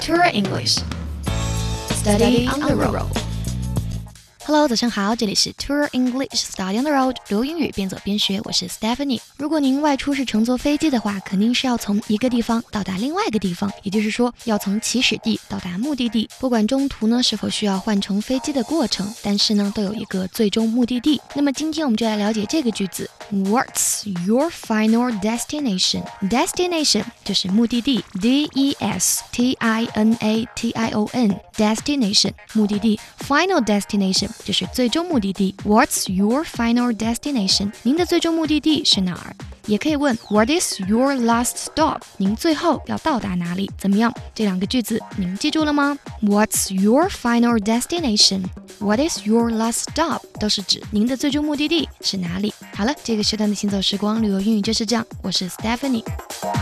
Tour English. Study on the road.Hello， 早上好，这里是 Tour English Study on the Road， 留英语边走边学，我是 Stephanie。如果您外出是乘坐飞机的话，肯定是要从一个地方到达另外一个地方，也就是说要从起始地到达目的地。不管中途呢是否需要换乘飞机的过程，但是呢都有一个最终目的地。那么今天我们就来了解这个句子 What's your final destination? Destination 就是目的地 D-E-S-T-I-N-A-T-I-O-N Destination 目的地 Final destination就是最终目的地 What's your final destination? 您的最终目的地是哪儿？也可以问 What is your last stop? 您最后要到达哪里？怎么样？这两个句子您记住了吗？ What's your final destination? What is your last stop? 都是指您的最终目的地是哪里。好了，这个时段的行走时光旅游英语就是这样，我是 Stephanie。